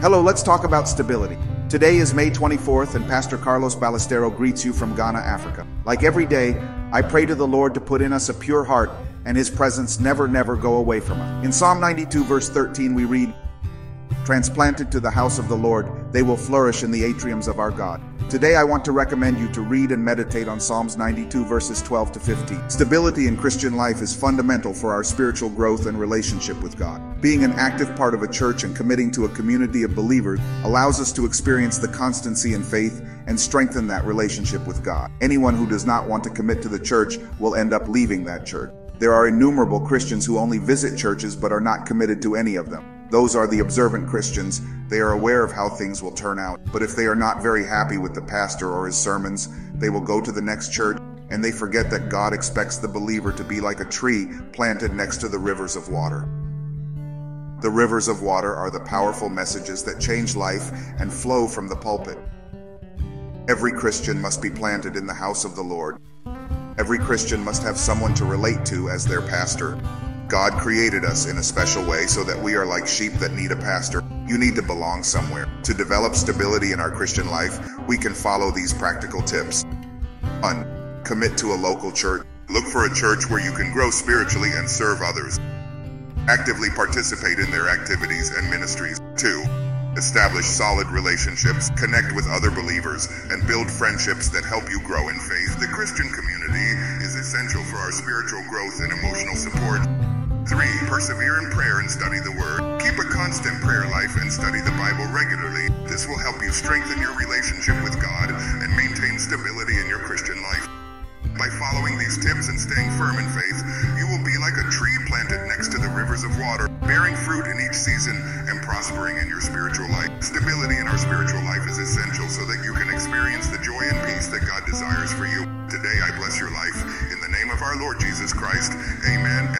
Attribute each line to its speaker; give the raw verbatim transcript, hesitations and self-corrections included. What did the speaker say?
Speaker 1: Hello, let's talk about stability. Today is May twenty-fourth, and Pastor Carlos Ballestero greets you from Ghana, Africa. Like every day, I pray to the Lord to put in us a pure heart and His presence never, never go away from us. In Psalm ninety-two, verse thirteen, we read, "Transplanted to the house of the Lord, they will flourish in the atriums of our God." Today I want to recommend you to read and meditate on Psalms ninety-two, verses twelve to fifteen. Stability in Christian life is fundamental for our spiritual growth and relationship with God. Being an active part of a church and committing to a community of believers allows us to experience the constancy in faith and strengthen that relationship with God. Anyone who does not want to commit to the church will end up leaving that church. There are innumerable Christians who only visit churches but are not committed to any of them. Those are the observant Christians. They are aware of how things will turn out. But if they are not very happy with the pastor or his sermons, they will go to the next church, and they forget that God expects the believer to be like a tree planted next to the rivers of water. The rivers of water are the powerful messages that change life and flow from the pulpit. Every Christian must be planted in the house of the Lord. Every Christian must have someone to relate to as their pastor. God created us in a special way so that we are like sheep that need a pastor. You need to belong somewhere. To develop stability in our Christian life, we can follow these practical tips. one. Commit to a local church. Look for a church where you can grow spiritually and serve others. Actively participate in their activities and ministries. two. Establish solid relationships, connect with other believers, and build friendships that help you grow in faith. The Christian community is essential for our spiritual growth and emotional support. three. Persevere in prayer and study the Word. Keep a constant prayer life and study the Bible regularly. This will help you strengthen your relationship with God and maintain stability in your Christian life. By following these tips and staying firm in faith, you will be like a tree planted next to the rivers of water, bearing fruit in each season and prospering in your spiritual life. Stability in our spiritual life is essential so that you can experience the joy and peace that God desires for you. Today I bless your life. In the name of our Lord Jesus Christ, amen.